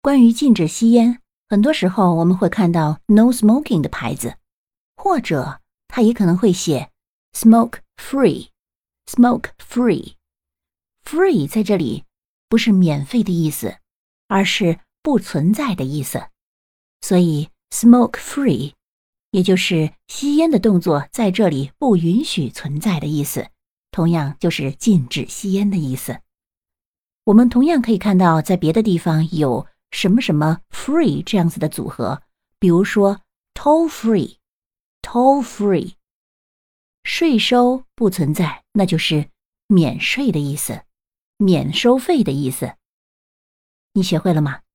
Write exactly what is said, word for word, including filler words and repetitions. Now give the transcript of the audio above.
关于禁止吸烟，很多时候我们会看到 no smoking 的牌子，或者它也可能会写 smoke free smoke free free 在这里不是免费的意思，而是不存在的意思，所以 smoke free 也就是吸烟的动作在这里不允许存在的意思，同样就是禁止吸烟的意思。我们同样可以看到在别的地方有什么什么 free 这样子的组合，比如说 toll free toll free 税收不存在，那就是免税的意思，免收费的意思。你学会了吗？